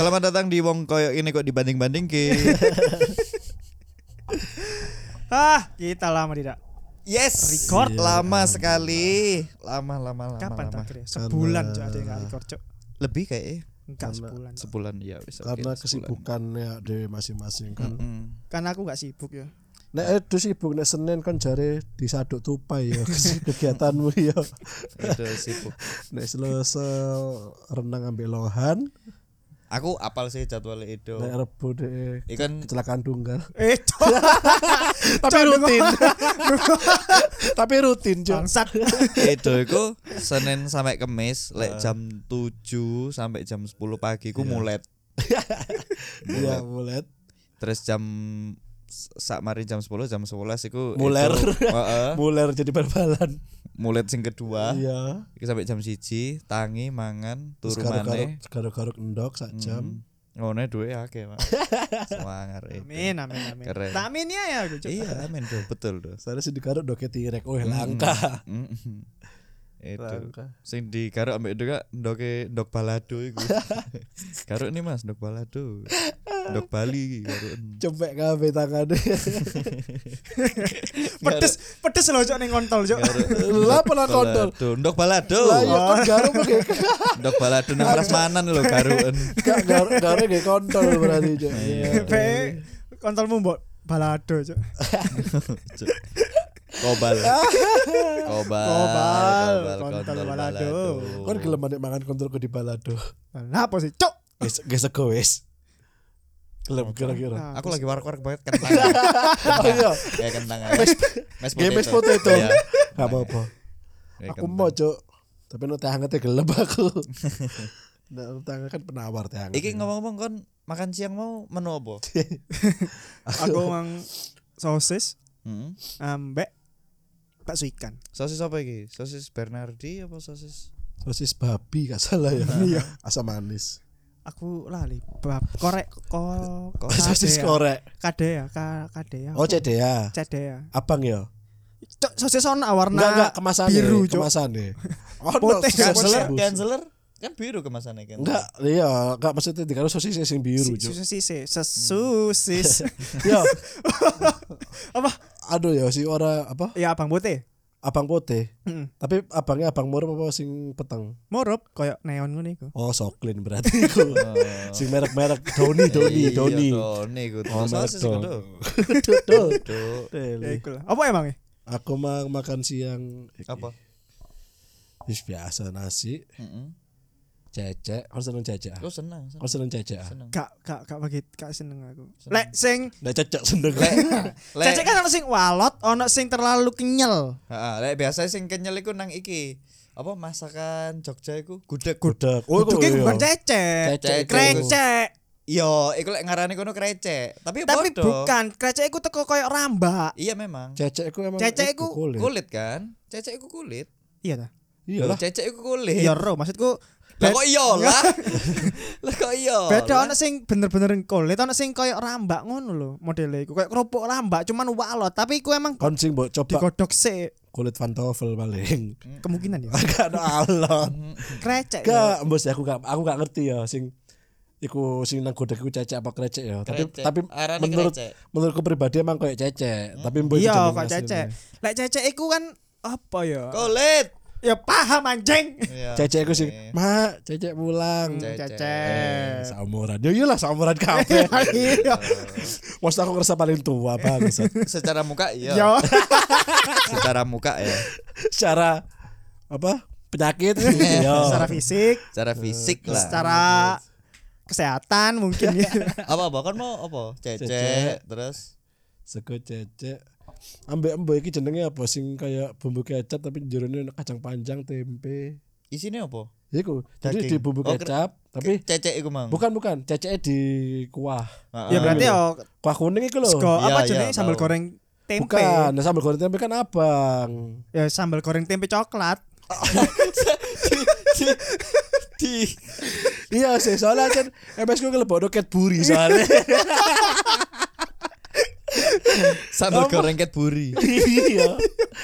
Selamat datang di wong koyo ini kok dibanding-bandingke. Kita lama tidak. Yes. Record lama sekali. Lama. Kapan terakhir? Sebulan Cok, ada yang nggak record Cok. Lebih kayaknya. Enggak sebulan. Sebulan ya wis. Karena kesibukannya dewe masing-masing kan. Kan aku nggak sibuk ya. Nek itu sibuk nek Senin kan jare disaduk tupai ya kegiatanmu ya. Itu sibuk. Nek Selasa renang ambil lohan, Aku apal sih jadwal itu. nek Rebo deh Ikan kecelakaan tunggal. Cok. Tapi rutin. Tapi rutin, Cok. Bangsat. itu iku Senin sampai Kamis lek jam 7 sampai jam 10 pagi ku mulet. Iya, mulet. Terus jam sak mari jam 10 jam 11 iku Muler. Heeh. Muler jadi bal-balan. Mulet sing kedua. Iya. Iki sampai jam 1 tangi mangan turu Terus maneh. garuk-garuk endok sak jam. Ngono duwe akeh, Pak. Semangat itu. Amin. Keren. Tak amin ya aku Cok. Iya, amin tuh, betul tuh. Saya sih digaruk doke tirek. Oh, langka. Itu. Langka. Sing digaruk ambek itu kak ndok balado iku. Garuk nih Mas, ndok balado. Ndok Bali garuk. Cempek kabeh tangane. Pedes loh Cok ning kontol Cok. Lah pernah kontol. Ndok balado. Lah ya kan garuk ge. Ndok balado nang prasmanan lho garuken. Gak garuk ge kontol berarti, Cok. Be kontolmu mbok balado Cok. Kobal kontol balado. Kon gelem nek mangan kontolku di balado. Lah apa sih Cok? Wis sego wis. Gelem kira-kira. Aku lagi warak-warak banget kentang. Oh iya. Kayak kentang aja. Games potato. Iya. Gak apa-apa. Kayak Aku mau, Cok. Tapi no teh hangat gelem aku. Nah, teh hangat kan penawar teh hangat. Iki ngomong-ngomong kon makan siang mau menu apa? Aku mang sosis Heeh. ambek bakso ikan. Sosis apa iki? Sosis Bernardi apa sosis? Sosis babi gak salah ya. Iya. Asam manis. Aku lali korek Sosis korek. Kadea. Oh, CDA. Cedea. Abang ya? Cok, sosis ono warna Enggak kemasannya. biru, Cok. Kemasannya. Oh, Putih, Canceler kan biru kemasannya kan. Enggak, iya, enggak maksudnya dikaro sosis sing biru, Cok. Sosis. Ya. Apa? Aduh ya si ora apa? Ya abang bote. Abang putih. Heeh. Tapi abangnya abang murah apa sing peteng? Morup koyo neon ngono iku. Oh, Soklin berarti iku. Sing merek-merek Doni. Doni ku. Oh, Sosis merek ku. Tuh. Ya iku lah. Apa emang? Aku makan siang Apa? Wis biasa nasi, Heeh. cecek, harus seneng cecek. Aku seneng. Harus seneng cecek. Gak seneng aku. Lek sing Nek cecek seneng. cecek kan ono sing walot, ono sing terlalu kenyal. Heeh, lek biasa sing kenyal iku nang iki. Apa masakan Jogja iku? Gudeg. Gudeg. Oh, Itu iya. bukan cecek. Cecek. Krecek. Yo, iku lek ngarani kono krecek. Tapi podo. bukan, krecek iku teko koyo rambak. Iya memang. Cecek iku emang Cecek iku Kulit kan? Cecek iku kulit. Iya ta? Iya Loh, lah. cecek iku kulit. Iya ro, maksudku Lah kok iya lah. Lah kok iya. beda ono sing bener-bener kulit, ono sing koyo rambak ngono lho modele iku. Koyo kerupuk rambak cuman walot, tapi iku emang Kon sing mbok coba digodhog sik kulit pantofel paling. kemungkinan ya. Agak ada alon. Krecek. ya. Gak, bos aku gak ngerti ya sing iku sing nang godek iku cecek apa krecek ya. Krecek. Tapi Arane krecek. menurutku pribadi emang kayak cecek. Tapi mbok Iya kok cecek. Lek cecek iku kan apa ya? Kulit. Ya paham anjing. Iya. Cecek iku sing, "Mak, cecek pulang." Cecek. Saumuran. Yo iyalah saumuran kabeh. Iya. Maksud aku ngerasa paling tua banget. Secara muka iya. Yo. Secara muka ya. Secara apa? Penyakit. Secara fisik, Secara fisik lah. secara kesehatan mungkin ya. Apa kan mau apa? Cecek terus Sego cecek. Ambek mbok iki jenenge apa sing kayak bumbu kecap tapi jerone kacang panjang, tempe. isinya apa? Iku. Jadi Daging. di bumbu Oh, kecap tapi Cecek iku mang. bukan ceceknya di kuah. Ya berarti ya Kuah kuning iku lho. sego apa Iya, jenenge iya, sambal tahu. goreng tempe. Bukan, nah, sambal goreng tempe kan abang. Ya sambal goreng tempe coklat. Di Iya sih, soalnya kan MS ku kelebokno Cadbury soalnya. sambal goreng Cadbury. Iya.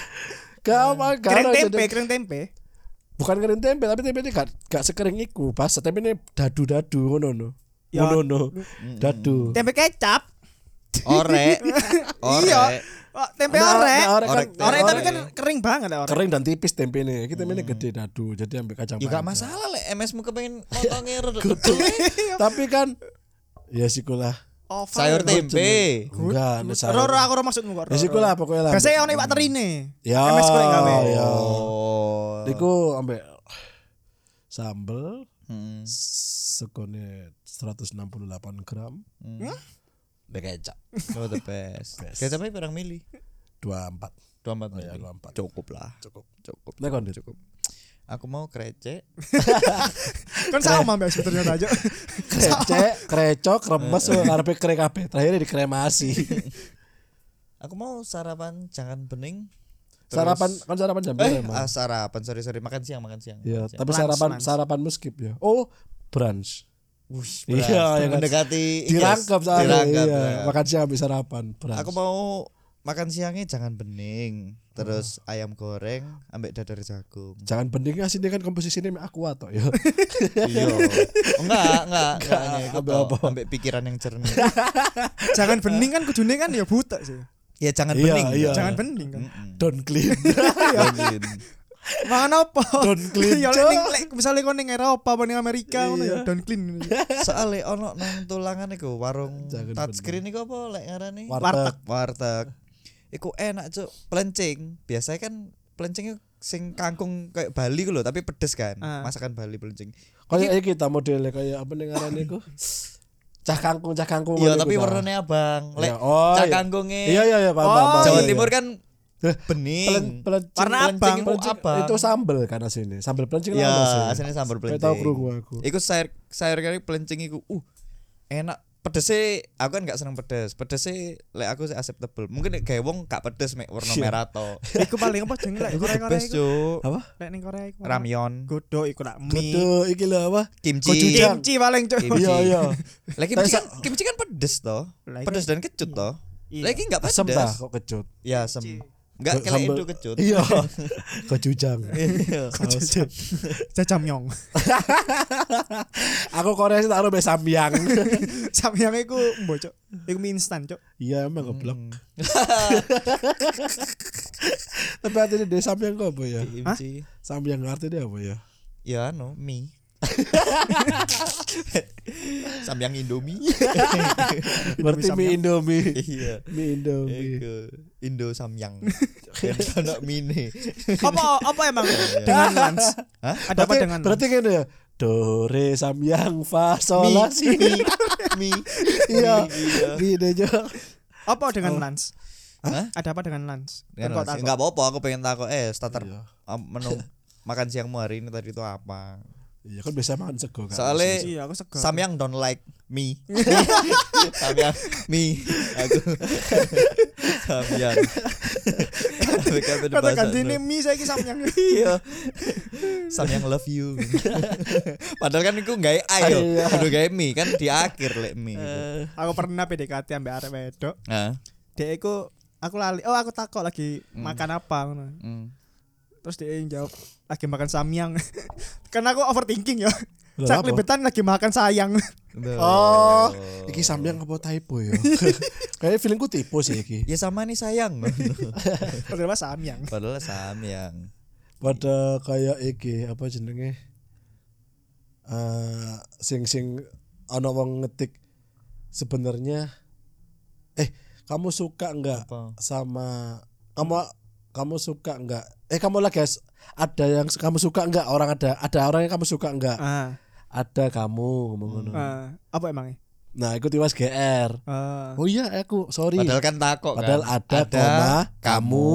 Kering tempe. Bukan kering tempe, tapi tempe ini gak sekering iku, pas tempe ini dadu-dadu ngono no. Ya, Monono. Dadu. tempe kecap. Orek. Iya. Oh, tempe orek. Orek Orek tapi kan kering banget ya orek. kering dan tipis tempene. Iki tempene gede dadu. Jadi ambil kacang Ya gak panjang. masalah lek MS-mu kepengen motonge Tapi kan ya sikulah. sayur tempe. Enggak, Roro aku ora maksudmu kok. ya sikulah pokoknya lah. Biasanya ono iwak terine. Ya. MS kok gawe. Ya. Oh. Iku ambek sambel Hmm. segone 168 gram. Be kecap. Oh the best. Kecapnya berang mili. 24. 24 Oh, ya, mili. 24. Cukup lah. Cukup. Cukup. Nek kon Cukup. Aku mau krecek. Kan sama mbak ternyata aja. krecok, remes ngarepe kre kabeh. Terakhir dikremasi. Aku mau sarapan jangan bening. Sarapan kan sarapan jam berapa? emang? Sarapan sorry makan siang. Iya, Makan siang. tapi Lunch. sarapanmu skip ya. Oh, brunch. Wush, Iya, yang mendekati Dirangkap soalnya. dirangkap. Iya, Ya. makan siang habis sarapan, brunch. Aku mau makan siangnya jangan bening, terus ayam goreng ambek dadar jagung. Jangan bening asine kan komposisinya mek aqua tok ya. Iya. Enggak iku Ambek toh, apa? ambek pikiran yang jernih. Jangan bening kan kudune kan ya buta sih. Ya jangan Iya, bening. iya. Jangan bening kan. Don't clean. Bening. Mangan apa? Don't clean, Ya Cok. lek misale kon ning Eropa apa ning Amerika ngono ya don't clean. Soale ono nang tulangan iku warung Jangan touchscreen iku apa lek ngarani? Warteg. Warteg. Iku enak cuk, pelencing. Biasanya kan pelencingnya sing kangkung kayak Bali ku lho, tapi pedes kan. Ah. Masakan Bali pelencing. Kayak kita modelnya kayak apa ning ngarane iku? Cah kangkung. Iya, ngono tapi iku, nah. warnanya abang. Lek Iya, oh, cak iya. kangkunge Iya, paham, Oh, paham. Jawa Iya, Timur iya. kan bening. Warna abang. Pelencing itu abang. Itu sambel kan aslinya. Sambel pelencing Ya, apa sih? aslinya sambal Kayak pelencing. tahu krungu aku. Iku sayur kari pelencing iku enak. Pedesnya aku kan gak seneng pedes. Pedesnya lek aku sih acceptable. Mungkin lek gawe wong gak pedes mek warna Iya. merah to. Iku paling apa jeneng lek Iku the Korea-Korea best iku. cuk. Apa? Lek ning Korea iku. Ramyeon, Godok iku nak mie. Kudu iki lho apa? kimchi. Gochujang. Kimchi paling cuk. Kimchi. Iya. Lek kimchi kan pedes to. Lah, Pedes dan kecut to. Iya. Lagi gak pedes. Asem dah kok kecut. Ya asem. Enggak kayak Sambel- itu kecut. Iya. Gochujang. Iya. Jajamyeong. Aku Korea sih taruh be samyang. Samyang iku mbok cuk. Iku mie instan cuk. Iya emang goblok. Tapi artinya dia samyang kok apa ya? Kimchi. Samyang artinya apa ya? Ya mie. Samyang Indomie. Berarti mie Indomie. Iya. Mie Indomie. Iku Indo Samyang. Dan ono mine. Apa emang dengan lunch? Hah? Ada apa dengan Berarti kan ya do re samyang fa sol la si. Mie. Iya. Iya. Mie deh Jo. Apa dengan lunch? Hah? Ada apa dengan lunch? Kan Kok takut? enggak apa-apa, aku pengen takut starter Iya. menu makan siangmu hari ini tadi itu apa? Iya kan biasa makan sego kan. Soalnya Iya, aku segar. Samyang don't like me. Samyang me. Aku Samyang. Kata ganti ini mie saiki samyang. Iya. Samyang love you. Padahal kan iku gawe ayo, Iya. kudu gawe mi kan di akhir lek mi. Aku pernah PDKT ambek arek wedok. Nah. Dia iku aku lali. Oh, aku takut lagi makan apa ngono. Terus dia yang jawab lagi makan samyang. Karena aku overthinking ya. Lah, Cak apa? libetan lagi makan sayang. Oh, iki samyang apa typo ya? Kayaknya feelingku typo sih iki. Ya sama nih sayang. Padahal samyang. Padahal samyang. Pada kayak iki apa jenenge? Sing ana wong ngetik sebenarnya kamu suka enggak Apa? sama kamu suka enggak kamu lagi ada yang kamu suka enggak ada orang yang kamu suka enggak ada kamu ngomong ngono. Apa emangnya? Nah ikut tiwas GR. Oh iya aku sorry Padahal kan takok kan. padahal ada koma kamu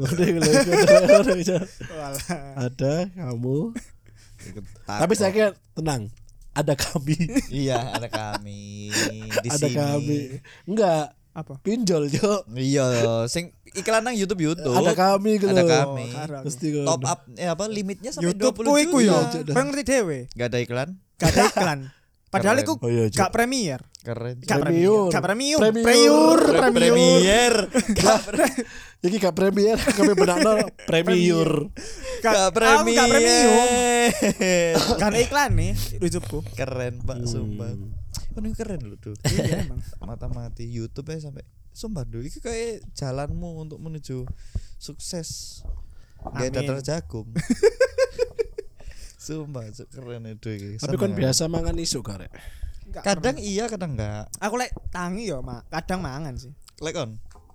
ada kamu tapi saya kira tenang ada kami Iya, ada kami di ada sini. kami enggak Apa? pinjol Jo Iya, sing iklan nang YouTube. ada kami gitu Ada loh. kami. Karo aku. Mesti kan. Top up apa limitnya sampai YouTube 20 ku iku juta. ya. Kau ngerti dhewe. Gak ada iklan. Gak ada iklan. Padahal Keren. iku Oh iya, Jo. gak premier. Keren. Gak Premium. Gak premium. Premium. Premier. Iki gak premier kami benakno premier Gak Premier. premium. Gak ada iklan nih YouTubeku. Keren Pak, sumpah. Kan ini keren loh tuh. Iya emang. Mata-mati YouTube ya sampai sumpah duh iki kayak jalanmu untuk menuju sukses. Kayak Amin. dadar jagung. Sumpah keren itu iki. Tapi kan Seneng biasa mangan isu karek. Enggak aku. Kadang pernah. iya kadang enggak. Aku lek tangi yo, kadang mangan sih. Lek kon.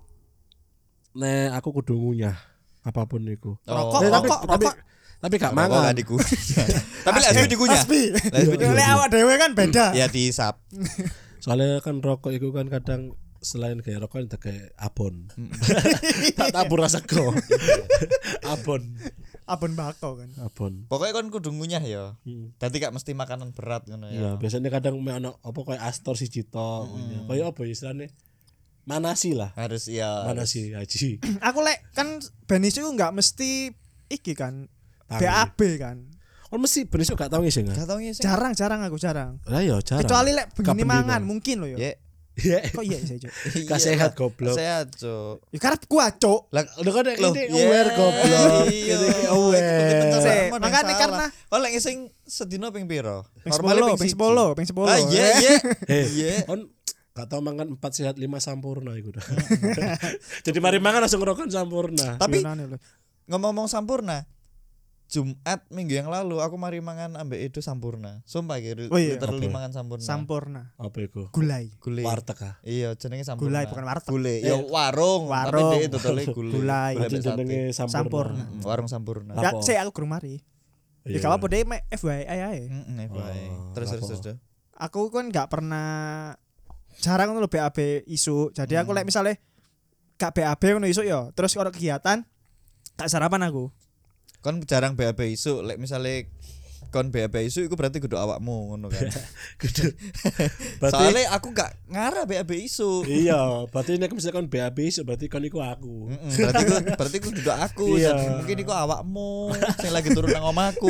Nek aku kudu ngunyah apapun iku. Rokok, Eh, rokok. tapi gak Rokok mangan. gak dikunyah. Tapi lek asbi dikunyah. Asbi. Lek asbi Lek dikunyah. awak dhewe kan beda. Ya diisap. Soalnya kan rokok itu kan kadang selain kayak rokok itu kayak abon. Tak tabur rasa go. Abon. Abon bako kan. Abon. Pokoknya kon kudu ngunyah ya. Hmm. Dadi gak mesti makanan berat ngono Ya, ya. biasanya kadang me ono apa kayak Astor siji tok. Kayak apa ya istilahnya? Manasi lah. Harus ya. Manasi haji. Aku lek kan benis itu enggak mesti iki kan. Tangi. BAB kan. Oh mesti bener gak tau ngisi enggak? Gak tau ngisi. Jarang aku jarang. Lah ya jarang. Kecuali lek begini Kapan mangan dino? mungkin loh ya. Ya. Ya. Kok iya sih, Cuk? Gak sehat, goblok. Sehat, Cuk. Ya karep gua, Cuk. Lah Udah kan Loh, ini yeah, aware goblok. iya. Ini aware. Sik, Makanya makanya karena- kalau lek ngising sedino ping piro? Ping Normalnya 10, ping siji. 10, ping 10. Ah iya iya. Eh, Iya. on gak tau mangan 4 sehat 5 sampurna iku dah. Jadi mari mangan langsung ngerokok sampurna. Tapi Gimana lho? ngomong-ngomong sampurna, Jumat minggu yang lalu aku mari mangan ambek itu sampurna. Sumpah gitu. Oh iya. Literally Apa? mangan sampurna. Sampurna. Apa iku? Gulai. Gulai. Warteg ah. Iya, jenenge sampurna. Gulai bukan warteg. Gulai. Ya warung, Warung. tapi dia dodole gulai. Gulai. Gulai Itu ambek sate. jenenge sampurna. Sampurna. Warung sampurna. Apa? Ya, saya aku kurang mari. Ya Iya. gak apa-apa deh, FYI ae. Heeh, bae. Oh, Terus apa? terus. Aku kan gak pernah jarang ngono lho BAB isu. Jadi aku lek misale gak BAB ngono isu ya, terus kalau kegiatan gak sarapan aku. Kon jarang BAB isu, lek misale kon BAB isu iku berarti kudu awakmu ngono kan. Kudu. Berarti Soalnya aku gak ngarah BAB isu. iya, berarti nek misalkan BAB iso berarti kon iku aku. Berarti ku duduk aku. Iya. Jadi mungkin iku awakmu sing lagi turun nang omahku.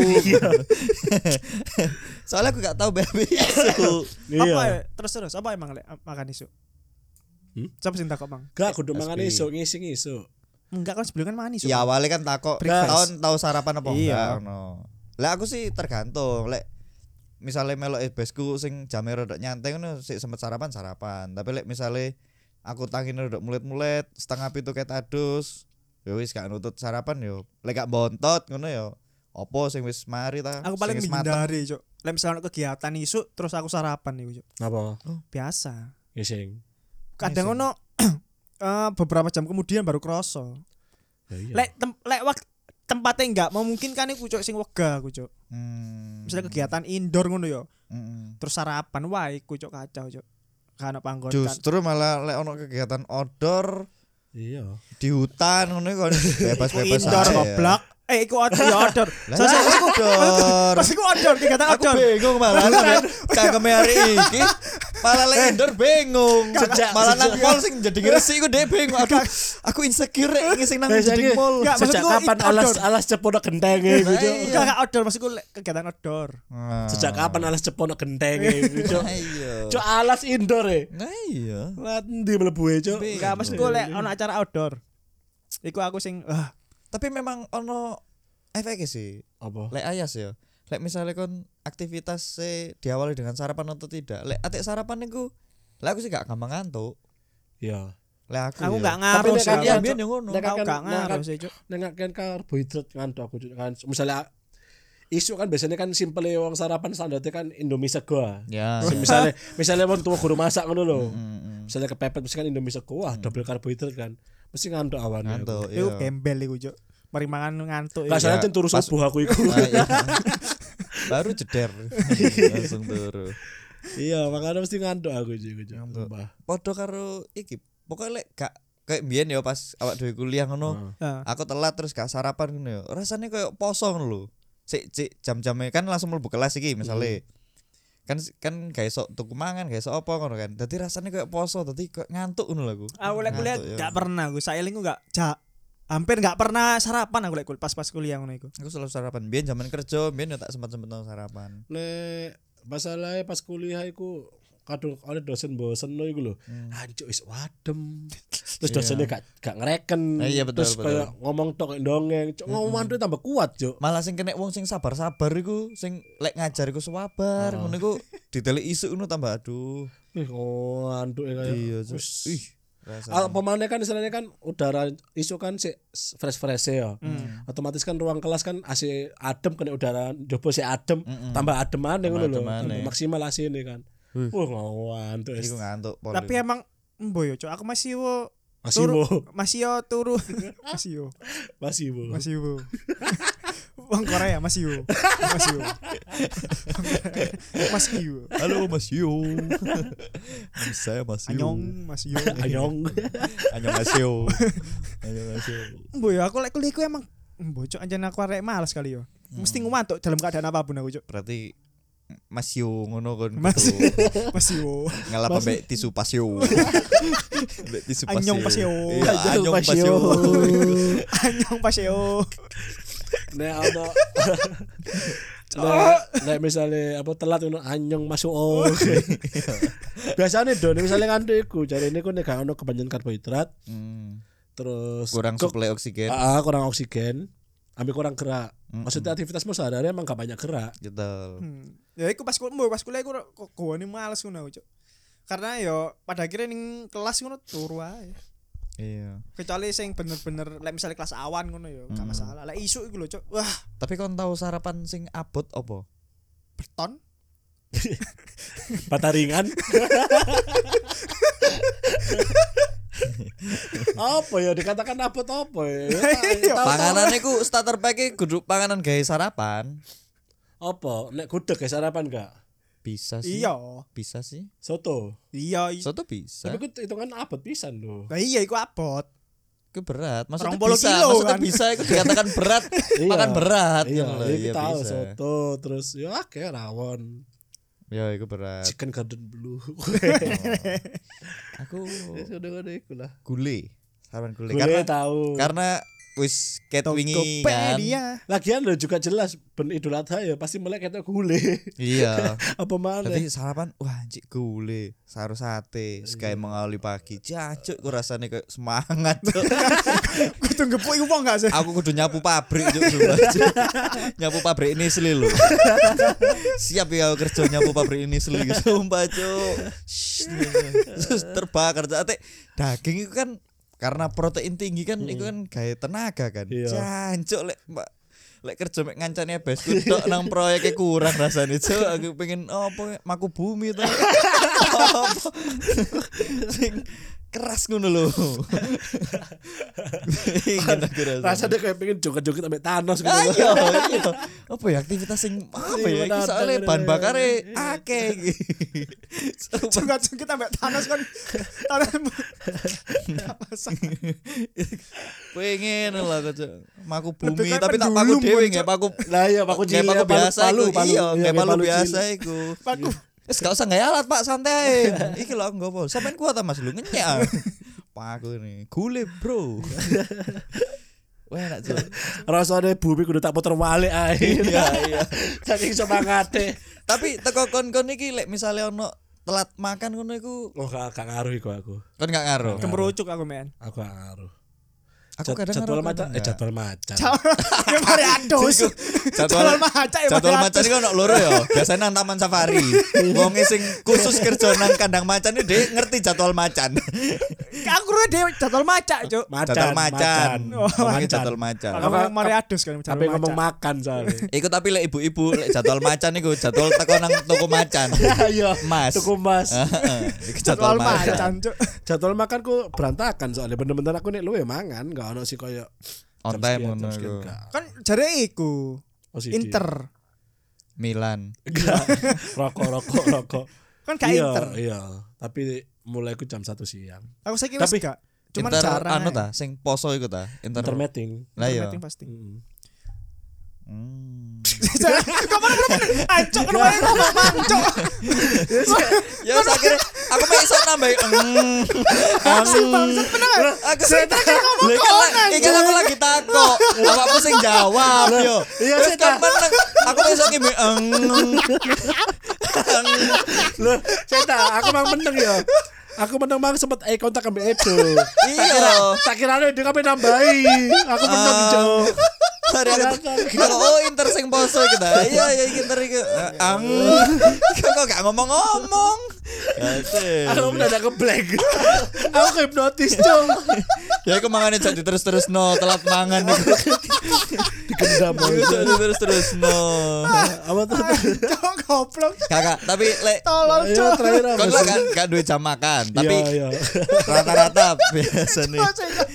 Soalnya aku gak tahu BAB isu. Apa ya? Iya. Terus apa emang lek makan isu? Hmm? Siapa sing takok, Bang? Gak kudu mangan SB. iso ngisi iso. Enggak kan sebelum kan makan isu. Ya awalnya kan takok Breakfast. tahun tahu sarapan apa Iya. enggak ngono. Lah aku sih tergantung. Lek misalnya melok besku sing jame rodok nyantai ngono sik sempet sarapan. Tapi lek misale aku tangine rodok mulet-mulet setengah pitu ket adus, ya wis gak nutut sarapan yo. Lek gak bontot ngono yo. Apa sing wis mari ta? Aku paling sing wis mateng. menghindari, Cuk. Lek misalnya kegiatan isu terus aku sarapan nih, Cuk. Apa? Biasa. Ngising. Kadang Ngising. ono beberapa jam kemudian baru kroso. Ya iya. Lek tempatnya enggak memungkinkan iku, Cuk, sing wegah aku, Cuk. Misalnya kegiatan indoor ngono yo. Terus sarapan wae iku, Cuk, kacau, Cuk. Karena panggon kan. Justru malah lek ono kegiatan outdoor Iya. di hutan ngono kon bebas-bebas Indoor aja. goblok. Iku outdoor. Lah Sosok iku outdoor. pas iku outdoor, kegiatan Aku outdoor. bingung malah cangkeme hari iki malah lek indoor bingung. Malah nang mall sing jadi ngresik iku dhek bingung. Aku insecure rek ngisi nang jadi mall. Enggak, Sejak maksudku kapan itu alas outdoor. alas cepono gentenge gitu. Enggak outdoor, maksudku kegiatan outdoor. Nah. Sejak kapan alas cepono gentenge gitu. Nah, iya. Cuk alas indoor e. Nah iya. Lah ndi mlebu e, Cuk? Enggak, maksudku lek ono acara outdoor. Iku aku sing Tapi memang ono efeknya sih. Apa? Lek ayas ya. Lek misalnya kon aktivitas diawali dengan sarapan atau tidak. Lek atik sarapan niku lek aku sih gak gampang ngantuk. Iya. Lek aku aku ya. enggak Tapi ngaruh nek sih. kan Iya, Aku biyen yo ngono. Nek aku kan- enggak ngaruh sih, Cuk. Nek kan karbohidrat ngantuk aku Cuk, kan. Misalnya isu kan biasanya kan simple wong sarapan standarnya kan Indomie sego. Ya. Misalnya wong tua guru masak ngono lho. Misalnya kepepet mesti kan Indomie sego, wah double karbohidrat kan. Mesti ngantuk awane. Ngantuk. Iku Iya. gembel iku, Cuk. Mari mangan ngantuk. Lah iku. sana Iya. turu Pas- subuh aku iku. Ah, iya. Baru jeder. Langsung turu. Iya, makanya mesti ngantuk aku Cuk. Ngantuk. Sumpah. Podo karo iki. Pokoknya lek gak kayak mbiyen ya pas awak dhewe kuliah ngono. Heeh. Aku telat terus gak sarapan ngono ya. Rasane koyo poso ngono lho. Sik jam-jamnya kan langsung mlebu kelas iki misale. Kan gak iso tuku mangan, gak iso apa ngono kan. Dadi rasane koyo poso, dadi koyo ngantuk ngono lho aku. Aku lek kuliah Ngantuk, ya. enggak pernah aku. Sailingku enggak hampir enggak pernah sarapan aku lek pas kuliah ngono iku. Aku selalu sarapan. Biyen zaman kerja, biyen ya tak sempat-sempat sarapan. Nek masalahnya pas kuliah iku kadung ada dosen bosen lo iku lho. Anjuk wis wadem. Terus dosennya gak ngereken. Iya, betul, Terus betul. kayak ngomong tok dongeng, cuk ngomong itu tambah kuat, cuk. Malah sing kena wong sing sabar-sabar iku sing lek ngajar iku sabar ngono iku ditelik isuk ngono tambah aduh. Ih, antuk kayak. Iya, Cuk. Wis. Ih, rasanya. Pemane kan istilahnya kan udara isu kan si fresh ya. Otomatis kan ruang kelas kan AC adem kena udara jopo si adem tambah adem maneh ngono lho. adem maneh. Tambah maksimal AC-ne kan. Ngantuk. Iku ngantuk pol. Tapi emang mboyo cok aku masih wo Masih turu masih wo Wong Korea masih wo Halo Mas Yo. Saya Mas Yo. Anyong. Mas Yo. Mas Yo. Mboyo aku lek kuliahku emang mbocok anjen aku arek males kali yo. Mesti ngumantuk dalam keadaan apapun aku cok. Berarti Mas Yo ngono kon. Masih wo Ngalap ambek tisu pasio. Ambek tisu pasio. Anyong pasio. Iya, anyong pasio. Anyong paseo. Nek misalnya apa telat ngono anyong masuk biasanya don misalnya ngantuk iku jarine ku nek gak ono kebanyakan karbohidrat terus Kurang suplai oksigen. kurang oksigen ambil kurang gerak maksudnya aktivitasmu sehari-hari emang gak banyak gerak Gitu. Ya iku pas kuliah aku kok gone males ngono cok. Karena yo pada akhirnya ning kelas ngono turu ae. Iya. Kecuali sing bener-bener lek misalnya kelas awan ngono yo gak masalah. Lek isuk iku lho cok. Wah, Tapi kon tahu sarapan sing abot apa? beton. bata ringan apa ya dikatakan apa ya Panganan iku starter pack kudu panganan gawe sarapan. apa nek gudeg ya sarapan gak Bisa sih. Iya. Bisa sih. soto Iya. Soto bisa. tapi ku hitungan abot pisan lho Nah iya iku abot. Itu berat. Maksudnya 20 bisa. kilo, Maksudnya kan? bisa itu dikatakan berat. Makan berat. iya ngono lho. iya Iya kita tahu bisa. soto terus ya kayak rawon Ya itu berat. chicken garden blue Aku sudah iku lah gule. Sarapan gule. gue tahu Karena wis ket wingi kan. Tokopedia. lagian lo juga jelas ben Idul Adha ya pasti melek kita gule Iya. apa mana Tapi sarapan wah anjir gule, sayur sate, sekali mengawali pagi. Jancuk ku rasane kayak semangat. Cuk. Kudu ngepuk iku wong gak sih? Aku kudu nyapu pabrik Cuk, sumpah, Cuk. Nyapu pabrik ini seli lho. Siap ya aku kerja nyapu pabrik ini seli sumpah Cuk. Terus terbakar Cuk. Daging itu kan karena protein tinggi kan itu kan gaya tenaga kan. Iya. Jancuk lek kerja mek ngancane besku tok nang proyeknya kurang rasane Cuk. Aku pengen apa maku bumi to. Apa? Sing keras ngono lho. Ingin aku rasane. rasanya kayak pengen joget-joget sampai Thanos gitu Ayo, iya. Apa ya aktivitas sing apa ya? Iki soalnya bahan bakare akeh iki. Cungkat-cungkit ambek Thanos kan. Thanos. Pengen lah kok maku bumi Lebih kayak tapi tak paku pendulum, dhewe Cuk. nggak paku. lah iya paku Nggak cilik paku biasa iku. Iya, nggak palu palu biasa cilik. iku. Paku. Wis gak usah gaya alat Pak, santai. Iki lho nggo apa? Sampeyan kuat ta Mas lu ngenyek. Paku ini. Gule, Bro. Wah, enak Cuk. rasanya bumi kudu tak puter balik ae Iya, iya. saking semangate Tapi teko kon-kon iki lek misale ono telat makan ngono iku oh gak ngaruh iku aku kon gak ngaruh. Kemerucuk aku men. aku gak ngaruh Aku kadang jadwal ngaruh, macan kadang enggak. jadwal macan Ya mari ados. Jadwal maca ya. Jadwal macan iki ono loro ya. Biasanya nang taman safari. Wonge sing khusus kerja nang kandang macan iki dhek ngerti jadwal macan. Aku ora dhewe jadwal maca, Cuk. Jadwal macan. Oh, Ngomongin macan. jadwal macan. Aku mari ados kan tapi ngomong makan soalnya Iku tapi lek ibu-ibu lek jadwal macan iku jadwal teko nang toko macan. iya Mas. tuku mas Heeh. Iku jadwal jadwal macan. macan, Cuk. jadwal makanku berantakan soalnya bener-bener aku nek luwe mangan gak ono sih koyo On jam time sekian, ngono jam sekian, iku. gak. Kan jare iku OCD. Inter. Milan. Gak. rokok Kan gak iya, Inter. iya tapi mulai ku jam 1 siang Aku saiki wis Tapi- gak. Cuman Inter jarang. anu ta sing poso iku ta? intermeeting Lah iya. Pasti. Hmm. Kok mana ancok kan wae ngomong mancok. Ya wis akhirnya aku mek iso nambah Bangsat bener. aku sing ngomong iki aku lagi takok awakmu sing jawab yo iya, terus saya kan meneng aku iso ki Loh, saya aku mang meneng ya. Aku meneng mang sempet kontak ambek Edo. Iya. Tak kira dia kabeh nambahi. Aku meneng Cuk. Oh Inter sing poso kita. Iya Inter iki. Kok gak ngomong-ngomong. Aku mendadak ke-blank. Aku hipnotis Cuk. Ya aku mangane jadi terus-terus telat mangan iku. Dikendam Terus no. Apa tuh? Cok goblok. Kakak, tapi lek Tolong Ayo cok. terakhir apa kon sih? kan gak duwe jam makan, tapi Iya. rata-rata biasa nih.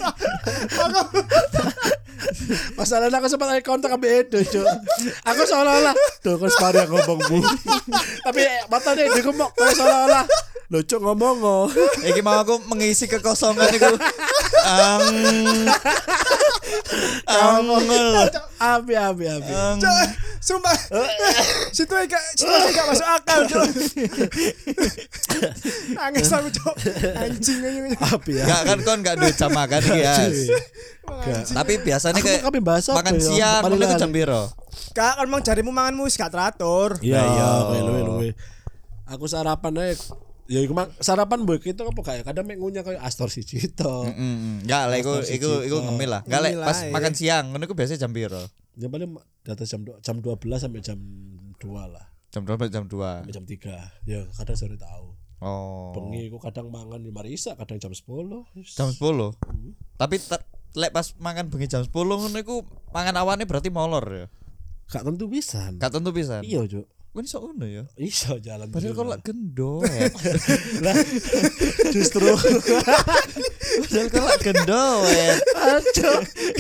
Masalahnya aku sempat ada kontak sama Edo Cuk. Aku seolah-olah Duh kok separi aku ngomong bu. Tapi mata dia Edo ngomong kayak seolah-olah Loh Cuk ngomong Iki mau aku mengisi kekosongan iku. Abi Cok, sumpah. Situ gak masuk akal, Cok. Nangis aku, Cok. Anjing aja. Abi ya Gak kan kon gak duwe jam makan iki ya. Gak. Tapi biasanya kayak kami bahas apa makan ya? siang Paling ngono iku lali. jam piro? Kak, kan emang jarimu manganmu wis gak teratur. Iya Iya. luwe. Aku sarapan aja ya iku mang sarapan mbok itu apa kayak kadang mek ngunyah kayak Astor siji to. Enggak lah iku ngemil lah. Enggak lek Ngemil pas ae. makan siang ngono iku biasanya jam piro? Ya paling di atas jam 12 sampai jam 2 lah. Jam 12 jam 2. Sampai jam 3. Ya kadang sore tahu. Oh. Bengi aku kadang mangan di Marisa, kadang jam 10. Jam 10. Tapi lek pas makan bengi jam 10 ngono iku mangan awane berarti molor ya. Gak tentu pisan. Gak tentu pisan. Iya, Cuk. Kan iso ngono ya. Iso jalan. Padahal juga. kalau gendowet. Lah justru Padahal kalau gendowet. aduh.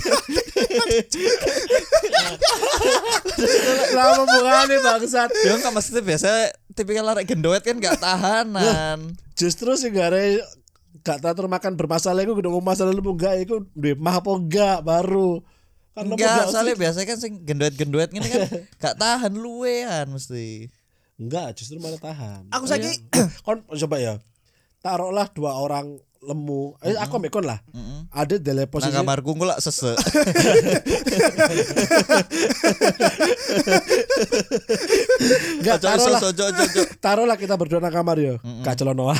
Lama bukane bangsat. Ya enggak maksudnya biasa tipikal arek gendowet kan gak tahanan. Justru sih gak teratur makan bermasalah iku kudu ngomong masalah lu enggak iku duwe mah apa enggak baru. Kan lu Enggak, soalnya biasanya kan sing gendowet-gendowet gini kan gak tahan luwean mesti. enggak, justru malah tahan. Aku saiki Kon coba ya. Taruhlah 2 orang lemu. Aku ambek kon lah. Ada dalam Nang posisi kamarku ngulak sesek. enggak taruhlah. Ojo. Taruhlah kita berdua nang kamar ya. Gak celonoan.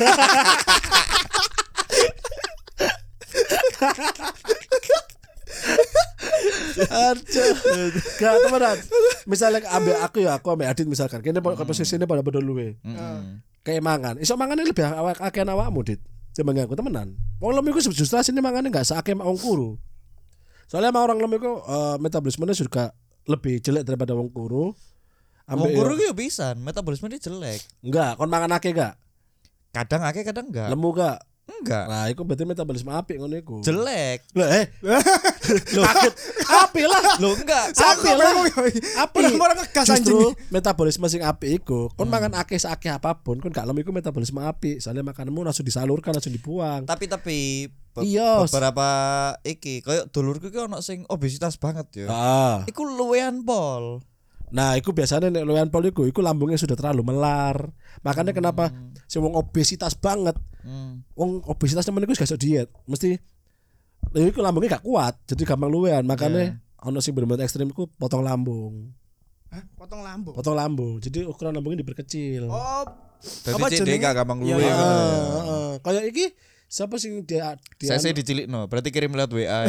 Aduh. Gak temenan. Misalnya aku ambek Adit misalkan. Kene posisi ini pada berdua luwe. Kayak mangan. Iso mangane lebih akeh awakmu, Dit. Timbang aku temenan. Wong lemu iku justru asine mangane gak seakeh wong kuru. Soalnya emang orang lemu iku metabolismenya juga lebih jelek daripada wong kuru. Wong guru yo pisan, metabolisme dia jelek. Enggak, kon mangan akeh gak? Kadang akeh kadang enggak. Lemu gak? Enggak. Nah, iku berarti metabolisme apik ngono iku. Jelek. Lah kaget. Apik lah. Lo enggak. Apik lah. Apik. Orang ngegas anjing. Justru metabolisme sing apik iku, kon mangan akeh sakeh apapun, kon gak lemu iku metabolisme apik. Soalnya makananmu langsung disalurkan, langsung dibuang. Tapi Iya. beberapa iki koyo dulurku ki ono sing obesitas banget ya. Iku luwean pol. Nah, iku biasanya nek luwean pol iku lambungnya sudah terlalu melar. Makanya kenapa sing wong obesitas banget. Wong obesitas temen iku gak iso diet. Mesti iku lambungnya gak kuat, jadi gampang luwean. Makanya ono sing bener-bener ekstrem iku potong lambung. Hah? Potong lambung. Potong lambung. Jadi ukuran lambungnya diperkecil. Oh, Dadi dia gak gampang luwe. Iya, Kayak iki siapa sih dia Saya dicilikno, berarti kirim lewat WA ya.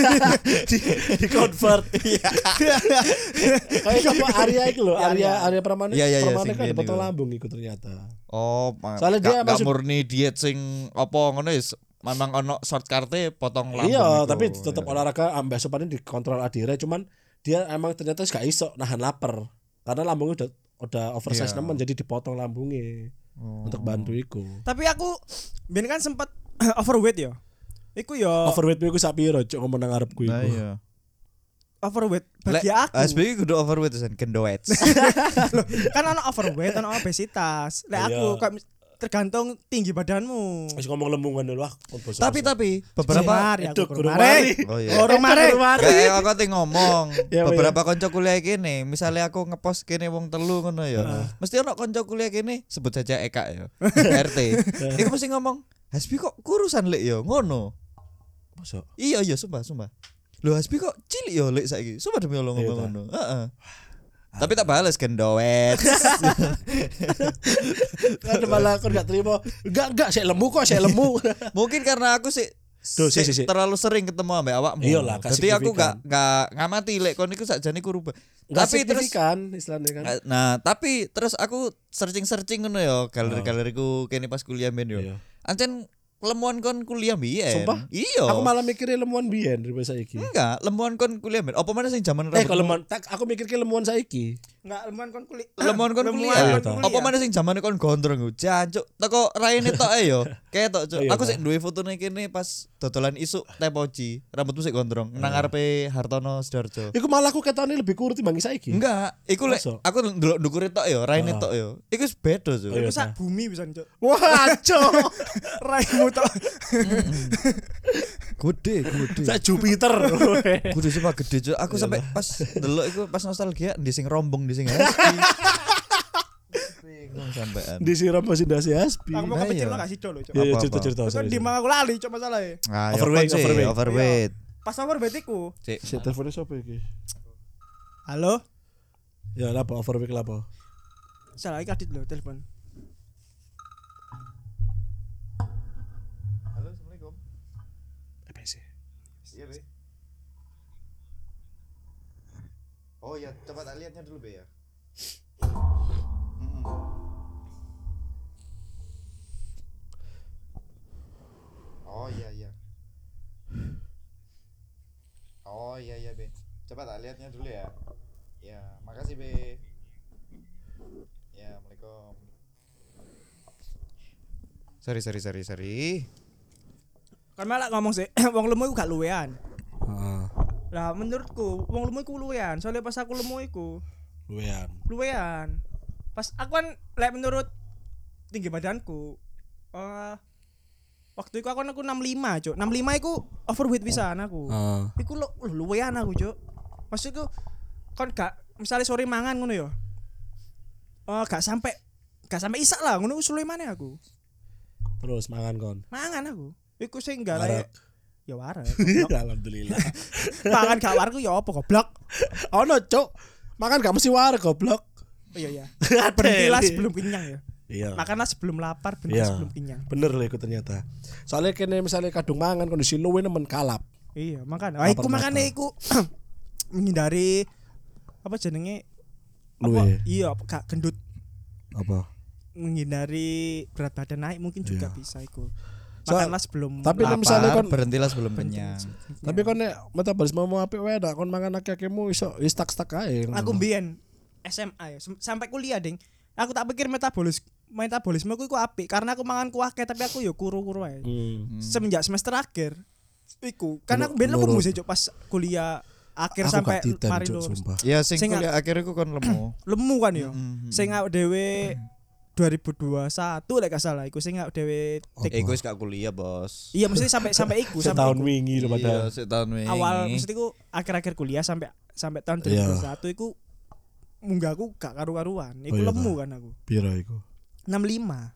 di convert. Kayak siapa Arya itu loh, Arya Pramana. Iya, Pramana sing kan ada ini potong kok. lambung itu ternyata. Oh, Soalnya dia gak maksud- murni diet sing apa ngono wis memang ono shortcarte potong lambung. Iya, iku. tapi tetap olahraga ambek sopanin dikontrol adire, cuman dia emang ternyata gak iso nahan lapar. Karena lambungnya udah oversize Iya. nemen, jadi dipotong lambungnya untuk bantu iku. tapi aku ben kan sempat overweight ya. Iku yo Overweight iku sak piro cuk ngomong nang ngarepku Nah, iku. iya. overweight bagi aku. SBY kudu overweight sen gendowet. Kan ono overweight, ono obesitas. Lek Iya. aku kayak tergantung tinggi badanmu. Wis ngomong lembungan dulu ah. Tapi beberapa Mari Itu aku guru mari. Oh iya. Orang mari. Kayak aku teh ngomong, Ya, beberapa kanca kuliah kene, misalnya aku ngepost kene wong telu ngono ya. Mesti ono kanca kuliah kene sebut saja Eka ya. RT. Iku mesti ngomong, "Hasbi kok kurusan lek ya?" Ngono. Masuk. Iya sumpah. Lho Hasbi kok cilik ya lek saiki. Sumpah demi Allah ngomong Iya, ngono. Heeh. Tapi tak bales gendowet. Kan malah aku enggak terima. Enggak, saya lemu kok, saya lemu. Mungkin karena aku sih Duh, sih. terlalu sering ketemu ambek awakmu. Iyalah, gak Jadi aku signifikan. gak ngamati lek kon iku sakjane ku rubah. Enggak Tapi terus signifikan istilahnya kan. nah, tapi terus aku searching ngono ya, galeri-galeriku kene pas kuliah ben yo. Iya. Ancen lemuan kon kuliah biyen. Sumpah? Iya. Aku malah mikirnya lemuan biyen daripada saiki. enggak, lemuan kon kuliah ben. Apa mana sing zaman Kalau lemuan, aku mikirnya lemuan saiki. Enggak lemuan kon kuliah. lemuan kon Lemuan kuliah. kon Apa mana sing zamane kon gondrong ku. Jancuk, teko raine tok ae yo. Ketok, Cuk. Iya, Aku sik ta. duwe fotone kene pas dodolan isuk teh poci. Rambutmu sik gondrong nang ngarepe Hartono Sidoarjo. Iku malah aku ketone lebih kurus timbang saiki. Enggak, iku lek Masa? aku ndelok ndukure tok yo, raine tok yo. Iku wis beda, Cuk. Oh, iya. Iku sak bumi pisan, Cuk. Wah, cok. Raimu tok. Gede. Sak Jupiter. Gede sumpah gede, Cuk. Aku sampai pas ndelok iku pas nostalgia ndi sing rombong, ndi sing happy. Bingung sampean. Disiram masih dasi aspi. Aku mau Nah, kepecil iya. lah kasih dulu, Cuk. Iya, Apa-apa. cerita-cerita. Terus sorry, di sorry. mang aku lali, Cuk, masalahnya. Ah, Overweight, overweight. overweight. Pas overweight iku. Cik. Si teleponnya siapa iki? Halo? Ya, apa overweight apa? Salah iki Adit lho telepon. Halo, Assalamualaikum. EPC. Iya, Be. Oh ya, coba tak lihatnya dulu, Be ya. Oh iya. Oh iya, Be. Coba tak lihatnya dulu ya. Ya, makasih, Be. Ya, Assalamualaikum. Sorry. Kan malah ngomong sih, wong lemu iku gak luwean. Heeh. Lah menurutku wong lemu iku luwean, soalnya pas aku lemu iku luwean. Pas aku kan lek menurut tinggi badanku waktu itu aku 65, Cuk. 65 iku overweight pisan aku. Iku luwean aku, Cuk. Maksudku kon gak misalnya sore mangan ngono ya. Gak sampai isak lah ngono wis luwe maneh aku. Terus mangan kon. Mangan aku. Iku sing gak Warak. layak. Ya warak. goblok. Alhamdulillah. Mangan gak warak ya apa goblok. Ono, Cuk. Makan gak mesti war goblok. Oh iya. Berhentilah sebelum kenyang ya. Iya. Makanlah sebelum lapar, berhenti Iya. sebelum kenyang. Bener lah iku ternyata. Soalnya kene misalnya kadung mangan kondisi luwe nemen kalap. Iya, makanya. Lapar Iku makane mata. iku menghindari apa jenenge? Luwe. Iya, gak gendut, Apa? menghindari berat badan naik mungkin juga Iya. bisa iku. So- Makanlah sebelum tapi lapar. misalnya kon- berhentilah sebelum kenyang. Tapi kon nek metabolisme mau apik wae dak kon mangan akeh-akehmu iso stuck ae. Aku mbiyen SMA ya, sampai kuliah, Ding. Aku tak pikir metabolisme ku apik karena aku mangan kuah tapi aku ya kuru-kuru ae. Semenjak semester akhir iku karena aku ben lemu sih, Cuk, pas kuliah akhir Aku sampai gak titan, mari Cuk, lulus. sumpah. Ya sing Sing kuliah akhirnya ku kon lemu. Lemu kan ya. Mm-mm. Sing awake dhewe 2021 lek gak salah iku sing awake dhewe Iku wis gak kuliah, Bos. iya mesti sampai iku Setahun sampai iku. wingi lho Iya, padahal. setahun wingi. Awal mesti iku akhir-akhir kuliah sampai tahun Iya. 2021 iku munggahku gak karu-karuan. Iku Oh, iya, lemu ta. kan aku. Piro iku? 65.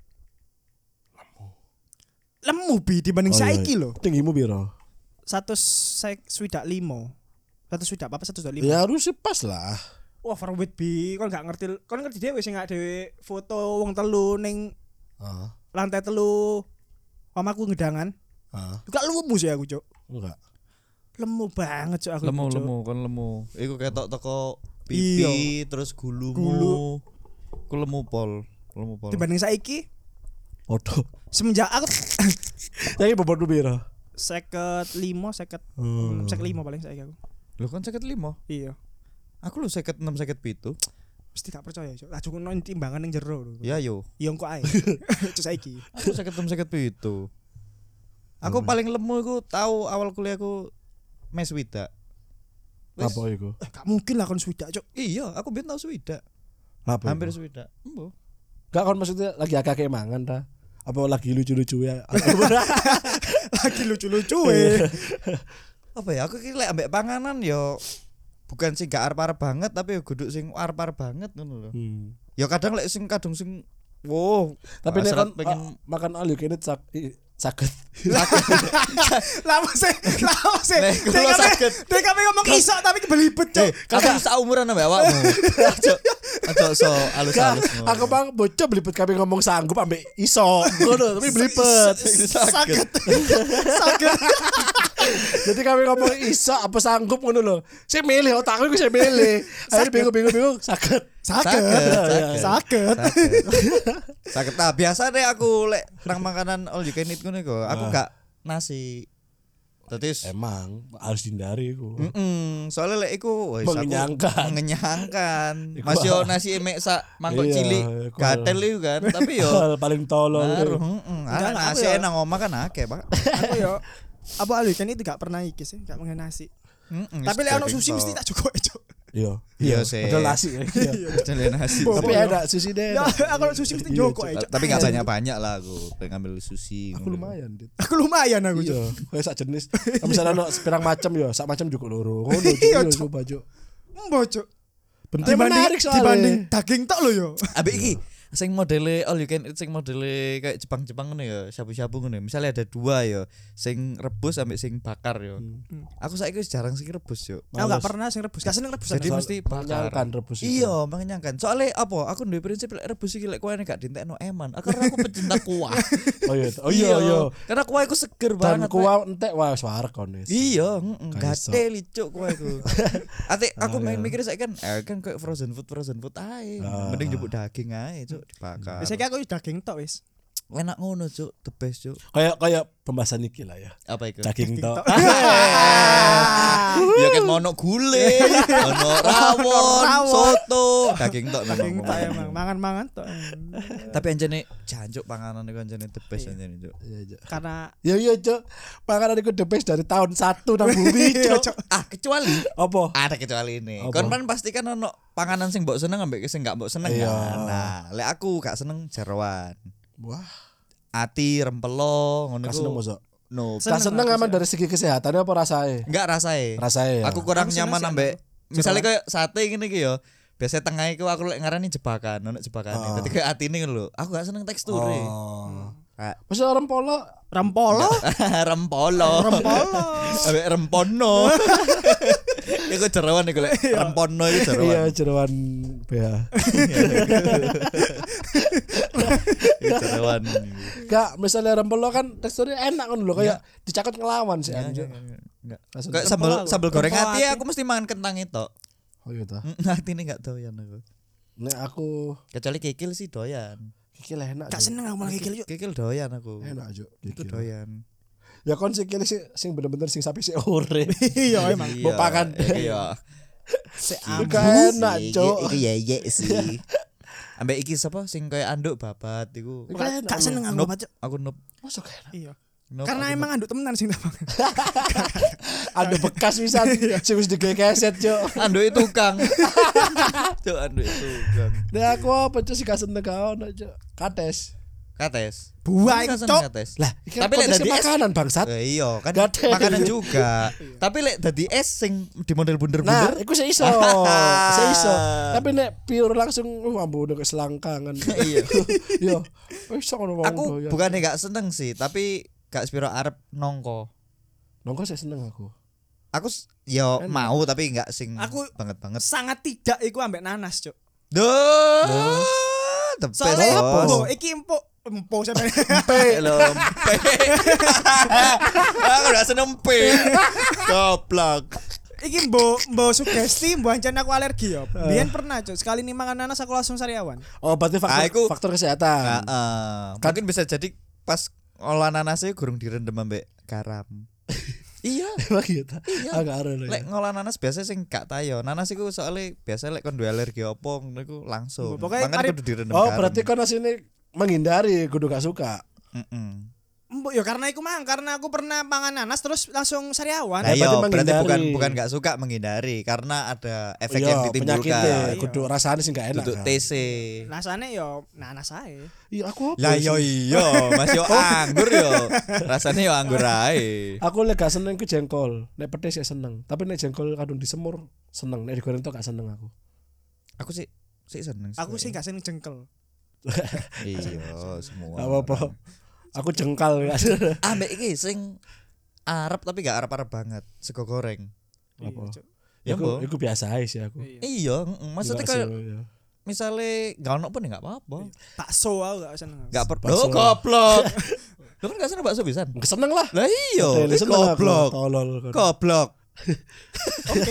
Lemu bi dibanding Oh, iya. saiki lho. Tinggimu piro? 125. 125 apa 125? Ya harusnya pas lah. Overweight bi, kon gak ngerti dhewe sing gak dhewe foto wong telu ning Heeh. lantai telu omaku ngedangan. Heeh. Juga lemu sih aku, Cuk. Enggak. Lemu banget, Cuk, aku. Cuk. Kon lemu. Iku ketok teko Iya. pipi terus gulumu. Gulu. Ku lemu pol. Dibanding saiki Foto. semenjak aku Saiki bobot piro? 55 paling saiki aku. Lho kan 55. Iya. Aku lho 56 57. Mesti gak percaya, Cuk. Lah cukup nang timbangan ning jero lho. Ya yo. Iya engko ae. Cuk saiki. Aku 56 57. Aku paling lemu iku tahu awal kuliahku mes widak. Wis. Apa iku? Gak mungkin lah kon swidak, Cuk. Iya, aku biyen tau swidak. Apa? Hampir Iku? swidak. Embo. Gak kon maksudnya lagi akeh mangan ta? Apa lagi lucu-lucu ya? Lagi lucu-lucu we. Apa ya? Aku ki lek ambek panganan yo bukan sing gak arep-arep banget tapi yo kudu sing arep-arep banget ngono lho. Ya kadang lek sing kadung sing wow, Tapi nek hasrat kon makan all you can eat Sakit. Lama sih. Nek, kulo saged. Dek kami ngomong iso tapi kebelibet, Cuk. Aku saumuran ambek awakmu. Aja so alus-alus. Aku bang bocah belibet kami ngomong sanggup ambek iso. Ngono tapi belibet. Sakit. Jadi kami ngomong iso apa sanggup ngono lho. Saya milih otakku iku saya milih. Akhirnya bingung sakit. Sakit. Nah, biasa deh aku lek nang makanan all you can eat ngono iku. Aku gak nasi. Terus Emang harus dihindari iku. Soalnya lek iku wis aku mengenyangkan. Iku Mas yo nasi emek sak mangkok Iya, cilik iku. gatel iku kan. Tapi yo Hal paling tolol. ngaruh. Enggak, Nasi aku yo- nang omah kan akeh, Pak. Aku yo apa alu kan itu gak pernah iki sih, gak mengen nasi. Tapi lek ono sushi mesti tak cukup, Cuk. Iya. Iya sih. Padahal nasi. Iya. Jalan nasi. Tapi ada sushi deh. Ya, aku sushi mesti Iya, joko Cuk. aja. Tapi gak banyak-banyak lah aku pengen ngambil sushi. Aku lumayan, Dit. Aku lumayan aku, Cuk. Iya, kayak sak jenis. Misalnya ono sepirang macam ya, sak macam juga loro. Ngono Iya, juga Cuk. coba, Cuk. Embo, Cuk. Penting menarik soalnya. Dibanding daging tok lo yo. Ambek iki sing modele all you can eat sing modele kayak Jepang-Jepang ngono ya, syabu-syabu ngono. Misalnya ada dua ya, sing rebus ambek sing bakar ya. Aku saiki wis jarang sing rebus yo. Aku gak pernah sing rebus, gak seneng rebusan. Jadi mesti bakar. Mengenyangkan rebus itu. Iya, mengenyangkan. Soalnya apa? Aku duwe prinsip lek rebus iki lek kuahne gak dientekno eman. Karena aku pecinta kuah. Oh iya. Karena kuah iku seger Dan banget. kuah entek wah suara kon wis. Iya, Gak iso. gatel licuk kuah iku. Ate aku mikir saiki kan kayak frozen food ae. Mending jupuk daging ae, Cuk, dibakar. Biasanya aku daging tok wis. Enak ngono, Cuk. The best, Cuk. Kayak pembahasan iki lah ya. Apa iku? Daging tok. Ya kan ono gule, ono rawon, soto, daging tok Daging memang. tok emang mangan-mangan tok. Tapi anjene jancuk panganan iku anjene the best anjene, Cuk. Iya, Karena iya, Cuk. Makanan iku the best dari tahun 1 nang bumi, Cuk. Ah, kecuali Apa? ada kecuali ini. Apa? Kon kan pasti kan ono panganan sing mbok seneng ambek sing gak mbok seneng Iya. kan. Nah, lek aku gak seneng jeroan. Wah, Ati rempelo ngono gak iku. seneng mosok. No, Gak seneng aman dari segi kesehatannya apa rasanya? enggak rasae. Rasanya ya. Aku kurang Aku seneng nyaman sih ambek anu, misalnya kayak sate ngene iki ya. Biasanya tengah iku aku lek ngarani jebakan, ono jebakane. Dadi kayak atine ngono lho. Aku gak seneng teksture. Oh. Ah, Masa orang polo rempolo, rempolo. rempolo. Ambek rempono. Iku jeroan iku lek rempono iku jeroan. iya jeroan BH. Iku jeroan. Gak, misalnya rempelo kan teksturnya enak kan lho kayak dicakot ngelawan sih anjir. Enggak. Langsung Kayak rempelo sambal aku. goreng Rempelo ati ati. aku mesti mangan kentang itu. Oh iya ta. Atine enggak doyan aku. Nek aku Kecuali kikil sih doyan. kikil enak. Gak Cuk. seneng aku malah kikil yuk. Kikil doyan aku. Enak Cuk. Itu Kikil. doyan. Ya kon kikil sing bener-bener sing sapi sing ore. Iya emang. Mbok pakan. Iya. Gak enak Cuk. Iku ya sih. Ambek iki sapa sing kaya anduk babat iku. Iku enak, Gak seneng aku Nup, Pak, Cuk. aku nup. Masa gak enak? Iya. Nup, Karena aku emang anduk temenan sing tak makan. Ada bekas bisa sing wis digegeset Cuk. anduk itu tukang. Cuk anduk itu tukang. Nek aku apa Cuk sih gak seneng gak ono Cuk. Kates. Kates. Buah Aku itu, seneng Cuk. kates. Lah, iki Tapi lek kontesnya dadi es makanan bangsat. iya kan Gatel. makanan juga. Tapi lek dadi es sing di model Nah, bunder-bunder. iku seiso. Seiso. Tapi nek pure langsung ambu udah keselangkangan. Iya. Yo. Wis ngono wong Aku doyan. bukannya gak seneng sih, tapi gak sepiro arep nongko. Nongko saya seneng aku. Aku yo Enak. mau tapi gak sing Aku- banget. Sangat tidak iku ambek nanas, Cuk. Duh. The best, Soalnya bos. empo, iki empo sampe. Hello, empe. Aku udah seneng empe. Goblok. Iki mbok sugesti mbok ancen aku alergi ya. Biyen pernah, Cuk. Sekali nih mangan nanas aku langsung sariawan. Oh, berarti faktor, Aku- faktor kesehatan. Mungkin bisa jadi pas olah nanasnya gurung direndam ambek garam. Iya. Emang gitu. Iya. Agak aro lho. Lek ngolah nanas biasa sing gak tayo. Nanas iku soalnya biasa lek kon duwe alergi opo ngono iku langsung. Pokoknya Makanya mari- kudu direndam Oh, garam. berarti kan asine menghindari kudu gak suka. Mm-mm. Mbok ya karena iku mang, karena aku pernah mangan nanas terus langsung sariawan. Nah, berarti iya, berarti menghindari. bukan gak suka menghindari karena ada efek Iya, yang ditimbulkan. Iya. kudu rasane sing gak enak. Duduk Kan? TC. Rasane yo nanas ae. Iya, aku apa? Lah sih? yo iya, Mas yo anggur yo. Rasane yo anggur ae. Aku lek gak seneng ke jengkol. Nek pedes ya seneng. Tapi nek jengkol kadung disemur seneng. Nek digoreng tok gak seneng aku. Aku sih seneng. Aku sih gak seneng jengkel. Iya, semua. Gak apa-apa. Aku jengkal ya. Ambek iki sing Arab tapi gak Arab-Arab banget, sego goreng. Apa? Ya, Iku Mbok. iku biasa aja sih aku. Iya, maksudnya kayak Iya. misalnya gak ono pun ya gak apa-apa. Bakso aku gak seneng. Gak perlu. Bakso. Oh, goblok. Lu kan gak seneng bakso pisan. Seneng lah. Lah iya, Seneng aku. goblok. Tolol. Goblok. Oke.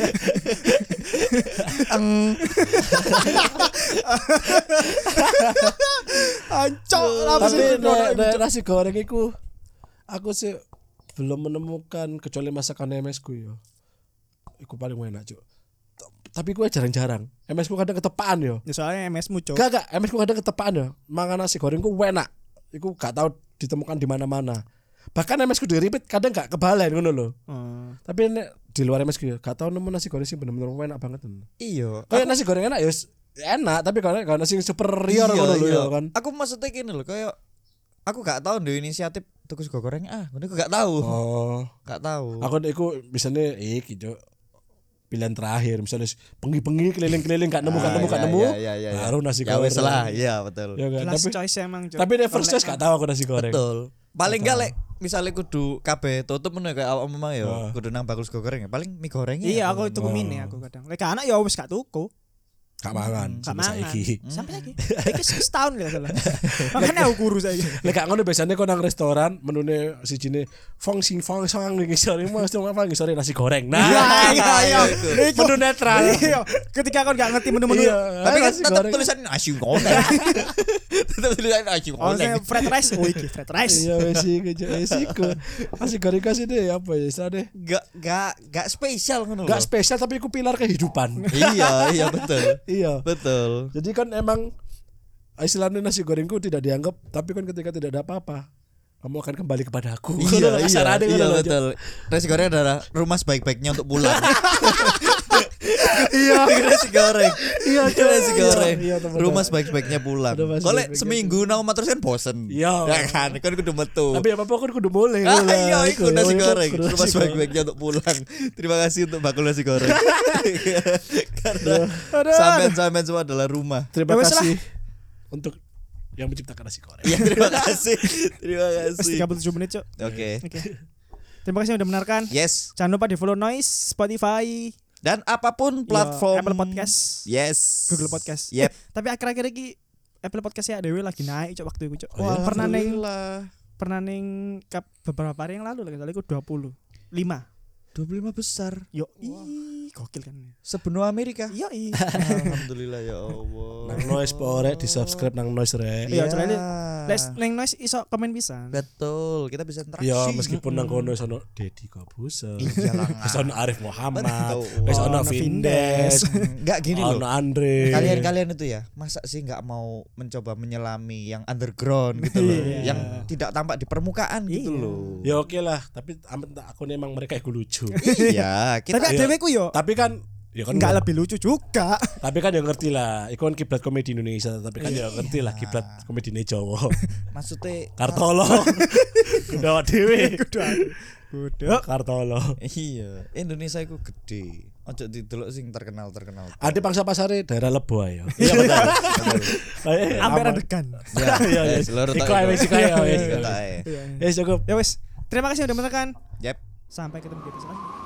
Ancok Tapi nek nasi goreng iku aku sih belum menemukan kecuali masakan MS ku yo. Iku paling enak, Cuk. Tapi gue jarang-jarang. MS ku kadang ketepaan yo. Ya soalnya MS-mu cok. Gak, MS ku kadang ketepaan yo. Mangan nasi goreng ku enak. Iku gak tahu ditemukan di mana-mana. Bahkan MS ku diripit kadang gak kebalen ngono lho. Tapi nek di luar MS ku yo gak tahu nemu nasi goreng sih bener-bener enak banget. Iya. Kayak nasi goreng enak ya enak, tapi kalau nasi superior ngono lho ya kan. Aku maksudnya gini loh, kayak aku gak tahu ndek inisiatif tuku sego goreng ngono aku gak tahu. Oh. Gak tahu. Aku iku misalnya iki Cuk. Pilihan terakhir misalnya pengi-pengi keliling-keliling gak nemu Iya. baru nasi Ya goreng. wes lah, iya betul. Ya kan? Last Tapi choice emang cok. tapi first choice gak tahu aku nasi goreng. Betul. Paling gak lek misalnya kudu kabeh tutup ngono kayak awak memang ya Ah. kudu nang bakul sego goreng ya paling mie goreng ya. Iya aku tuku mini aku kadang. Lek anak ya wis gak tuku. Gak mangan Gak sampai mangan. saiki. Sampai lagi. Iki setahun gak salah. Makanya aku kurus saiki. Lek gak ngono biasanya kau nang restoran menune sijine fong sang iki sore mas apa iki sore nasi goreng. Nah, Iya. Iku menu netral. Iya. Ketika kau gak ngerti menu-menu. Iya, Tapi kan nasi tetap goreng. tulisan nasi goreng. Tetap tulisan nasi Oh, saya goreng. fried rice. Oh, iki fried rice. Iya wes iku. Nasi goreng kasih deh apa ya istilahnya. Gak spesial ngono Gak loh. spesial tapi iku pilar kehidupan. Iya betul. Iya. Betul. Jadi kan emang istilahnya nasi gorengku tidak dianggap, tapi kan ketika tidak ada apa-apa, kamu akan kembali kepada aku. Iya betul. Nasi goreng adalah rumah sebaik-baiknya untuk pulang. Iya. Nasi goreng. Iya, Nasi goreng. Iya, teman-teman. Rumah sebaik-baiknya pulang. Rumah Kalau sebaik-baiknya seminggu nang omah terus kan bosen. Iya. Ya kan, kan kudu metu. Tapi apa-apa kan kudu boleh. Iya, iku ikut nasi iku goreng. kudu Rumah nasi sebaik-baiknya untuk pulang. Terima kasih untuk bakul nasi goreng. Karena Aduh. sampean semua adalah rumah. Terima Ya wes kasih untuk yang menciptakan nasi goreng. Iya, terima kasih. Terima Wes kasih. 37 menit, Cok. Oke. Oke. Terima kasih sudah mendengarkan. Yes. Jangan lupa di follow Noise, Spotify, Dan apapun platform Apple Podcast, Yes. Google Podcast. Yep. Tapi akhir-akhir ini Apple Podcast ya dewe lagi naik cok waktu itu cok. Oh, iya? Pernah neng beberapa hari yang lalu lagi soalnya aku 25. 25 besar. Yo, gokil kan. Sebenua Amerika. Yo, Alhamdulillah ya Allah. Nang Noise pore di subscribe nang Noise rek. Iya, soalnya neng Noise iso komen bisa. Betul, kita bisa interaksi. Ya meskipun nang kono sono Deddy Kobuser. Iyalah. Wis ono Arif Muhammad. Betul. Wis ono Ono Vindes. Enggak gini loh. Ono Andre. Kalian itu ya, masa sih nggak mau mencoba menyelami yang underground gitu loh, Iya. yang tidak tampak di permukaan gitu Iya. loh. Ya oke lah, tapi aku emang mereka iku lucu. Iya, kita Tapi Iya. dewe ku yo Tapi kan ya kan enggak lebih lucu juga. tapi kan ya ngerti lah, iku kan kiblat komedi Indonesia, tapi kan ya ngerti lah kiblat komedi Jawa. maksudnya Kartolo. Kudawa dhewe. Udah. Kartolo. iya, Indonesia itu gede. Ojo didelok sing terkenal. Ada pangsa pasare daerah Lebo ya. Iya betul. Amper adegan. Ya, Iya, iya. seluruh Iku ae wis iku ae. Iya, wis. iya. Ya cukup. Ya wes. Terima kasih sudah menonton. Yep. Sampai ketemu di episode selanjutnya.